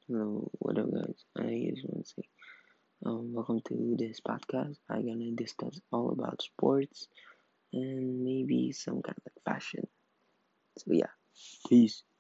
Hello, what up, guys? I just want to say, welcome to this podcast. I'm gonna discuss all about sports and maybe some kind of like fashion. So yeah, peace.